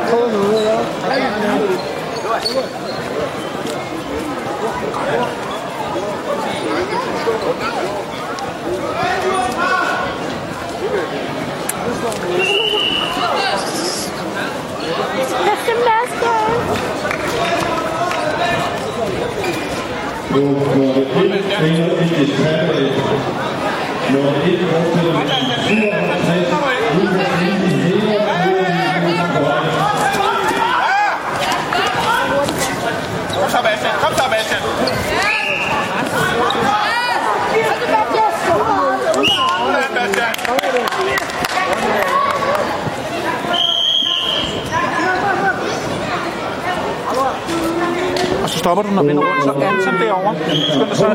få noget, ja. Kom så, Bastian. Kom så, Bastian. Og så stopper du, når vender rundt, så ansæt derovre.